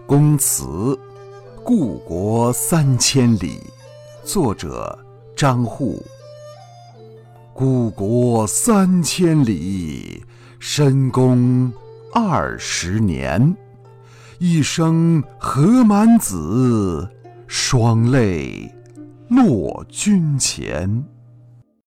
公词，故国3000里。作者张祜。故国3000里，深宫20年。一生何满子，双泪落君前。